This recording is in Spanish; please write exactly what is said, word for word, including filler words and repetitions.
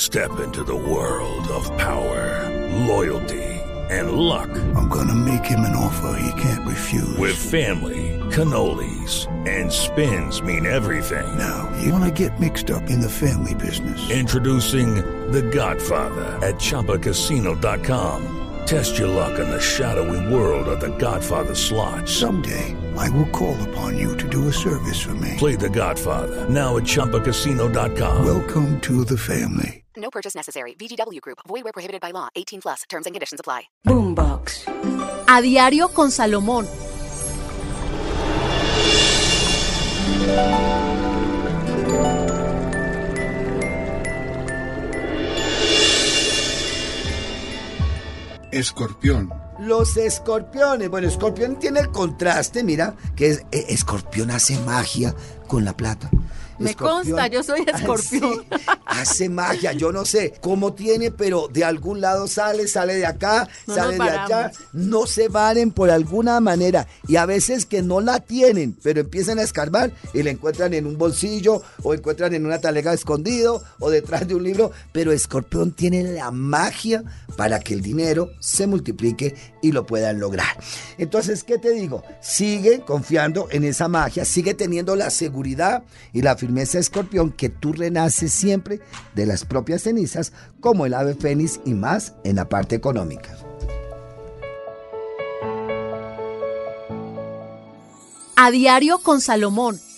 Step into the world of power, loyalty, and luck. I'm gonna make him an offer he can't refuse. With family, cannolis, and spins mean everything. Now, you wanna get mixed up in the family business. Introducing The Godfather at Chumba Casino dot com. Test your luck in the shadowy world of The Godfather slot. Someday, I will call upon you to do a service for me. Play The Godfather now at Chumba Casino dot com. Welcome to the family. No purchase necessary. V G W Group. Void where prohibited by law. eighteen plus. Terms and conditions apply. Boombox. A diario con Salomón. Escorpión. Los escorpiones. Bueno, escorpión tiene el contraste, mira, que es, eh, escorpión hace magia con la plata. Me Escorpión, consta, yo soy escorpión. Sí, hace magia, yo no sé cómo tiene, pero de algún lado sale, sale de acá, No sale nos de allá. paramos. No se varen por alguna manera. Y a veces que no la tienen, pero empiezan a escarbar y la encuentran en un bolsillo o encuentran en una talega escondido o detrás de un libro. Pero escorpión tiene la magia para que el dinero se multiplique y lo puedan lograr. Entonces, ¿qué te digo? Sigue confiando en esa magia, sigue teniendo la seguridad y la firmeza, escorpión, que tú renaces siempre de las propias cenizas como el ave fénix y más en la parte económica. A diario con Salomón.